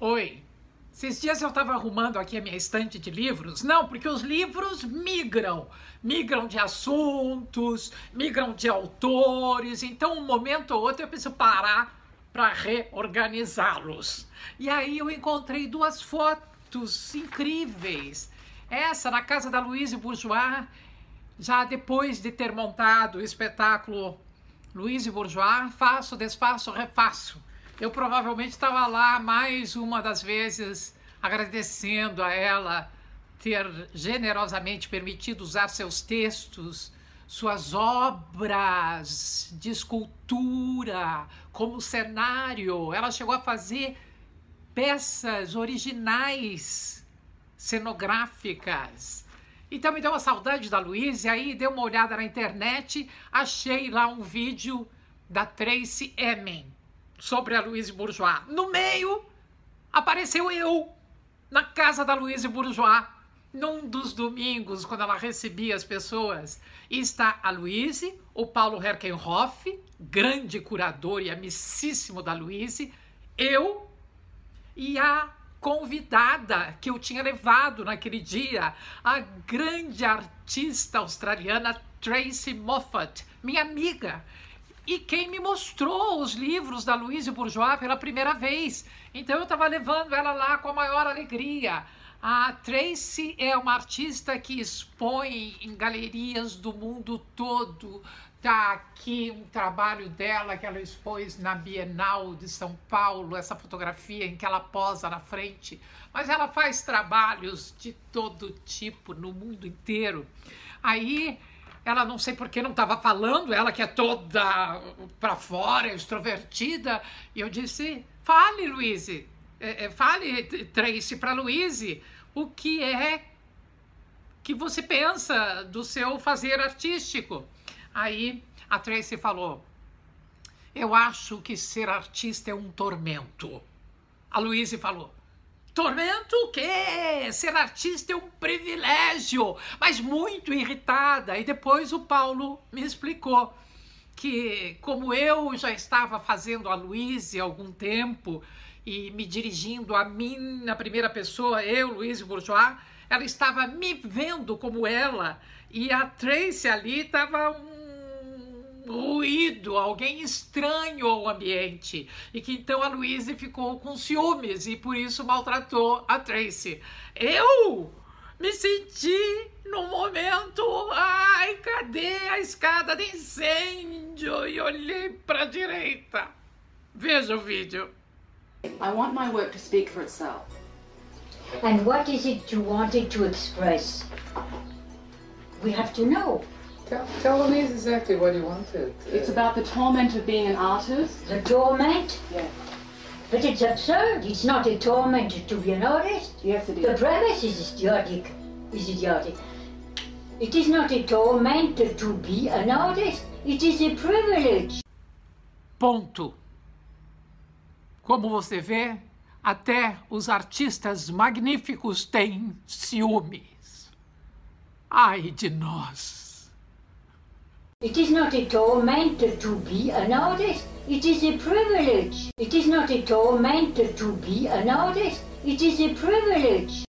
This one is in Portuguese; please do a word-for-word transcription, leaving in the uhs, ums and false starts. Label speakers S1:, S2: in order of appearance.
S1: Oi, esses dias eu estava arrumando aqui a minha estante de livros. Não, porque os livros migram. Migram de assuntos, migram de autores. Então, um momento ou outro eu preciso parar para reorganizá-los. E aí eu encontrei duas fotos incríveis. Essa na casa da Louise Bourgeois, já depois de ter montado o espetáculo Louise Bourgeois, faço, desfaço, refaço. Eu provavelmente estava lá mais uma das vezes agradecendo a ela ter generosamente permitido usar seus textos, suas obras de escultura como cenário. Ela chegou a fazer peças originais, cenográficas. Então me deu uma saudade da Louise, aí dei uma olhada na internet, achei lá um vídeo da Tracey Emin sobre a Louise Bourgeois. No meio, apareceu eu, na casa da Louise Bourgeois, num dos domingos, quando ela recebia as pessoas. E está a Louise, o Paulo Herkenhoff, grande curador e amicíssimo da Louise, eu e a convidada que eu tinha levado naquele dia, a grande artista australiana Tracey Moffat, minha amiga, e quem me mostrou os livros da Louise Bourgeois pela primeira vez. Então eu estava levando ela lá com a maior alegria. A Tracey é uma artista que expõe em galerias do mundo todo. Está aqui um trabalho dela que ela expôs na Bienal de São Paulo, essa fotografia em que ela posa na frente. Mas ela faz trabalhos de todo tipo no mundo inteiro. Aí ela, não sei por que não estava falando, ela que é toda para fora, extrovertida. E eu disse, fale, Louise, é, é, fale, Tracey, para Louise, o que é que você pensa do seu fazer artístico. Aí a Tracey falou, eu acho que ser artista é um tormento. A Louise falou, tormento o quê? Ser artista é um privilégio, mas muito irritada. E depois o Paulo me explicou que, como eu já estava fazendo a Louise há algum tempo e me dirigindo a mim na primeira pessoa, eu, Louise Bourgeois, ela estava me vendo como ela, e a Tracey ali estava um ruído, alguém estranho ao ambiente, e que então a Louise ficou com ciúmes e por isso maltratou a Tracey. Eu me senti num momento, ai, cadê a escada de incêndio? E olhei para a direita. Veja o vídeo.
S2: I want my work to speak for itself.
S3: And what is it you wanted to express? We have to know.
S4: Tell, tell Louise exactly what you wanted.
S2: It's about the torment of being an artist.
S3: The torment?
S2: Yeah.
S3: But it's absurd. It's not a torment to be an artist.
S2: Yes, it is.
S3: The premise is idiotic. Is idiotic. It is not a torment to be an artist. It is a privilege.
S1: Ponto. Como você vê, até os artistas magníficos têm ciúmes. Ai de nós.
S3: It is not a torment to be an artist. It is a privilege. It is not a torment to be an artist. It is a privilege.